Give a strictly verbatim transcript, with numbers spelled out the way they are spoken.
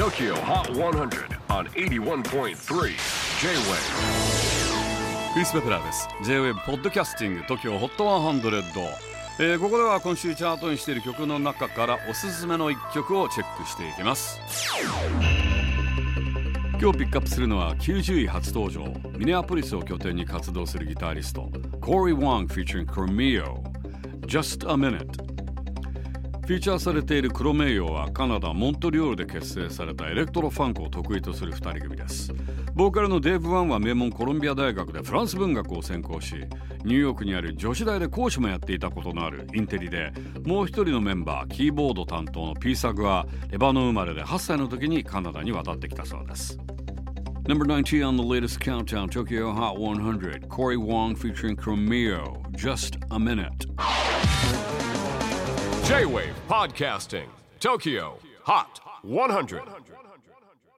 Tokyo Hot one hundred on エイティワンポイントスリー J-Wave。 クリス・ペプラーです。 J-Wave ポッドキャスティング Tokyo Hot ひゃく、えー、ここでは今週チャートにしている曲の中からおすすめのいっきょくをチェックしていきます。今日ピックアップするのはきゅうじゅうい初登場、ミネアポリスを拠点に活動するギタリスト Cory Wong featuring Chromeo Just a Minute。 フィーチャーされているクロメイヨはカナダ・モントリオールで結成されたエレクトロファンクを得意とするふたり組です。ボーカルのデーブ・ワンは名門コロンビア大学でフランス文学を専攻し、ニューヨークにある女子大で講師もやっていたことのあるインテリで、もう一人のメンバーキーボード担当のピーサグはレバノン生まれではっさいの時にカナダに渡ってきたそうです。 Number nineteen on the latest countdown, Tokyo Hot one hundred, Cory Wong featuring Chromeo, Just a Minute。 J-Wave Podcasting Tokyo Hot one hundred。